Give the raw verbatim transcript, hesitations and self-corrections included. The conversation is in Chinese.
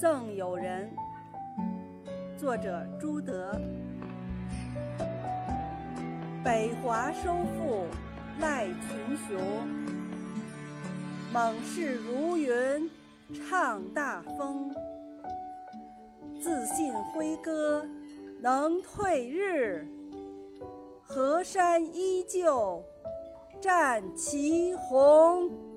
赠友人，作者朱德。北华收复赖群雄，猛士如云唱大风。自信挥戈能退日，河山依旧战旗红。